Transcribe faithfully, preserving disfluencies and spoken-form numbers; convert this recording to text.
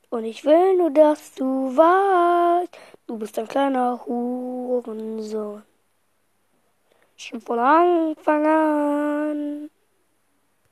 Und ich will nur, dass du weißt, du bist ein kleiner Hurensohn. Schon von Anfang an.